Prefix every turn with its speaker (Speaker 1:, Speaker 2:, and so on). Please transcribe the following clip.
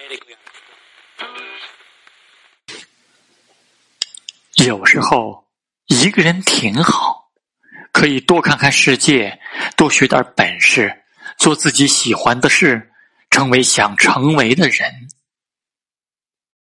Speaker 1: 有时候一个人挺好，可以多看看世界，多学点本事，做自己喜欢的事，成为想成为的人。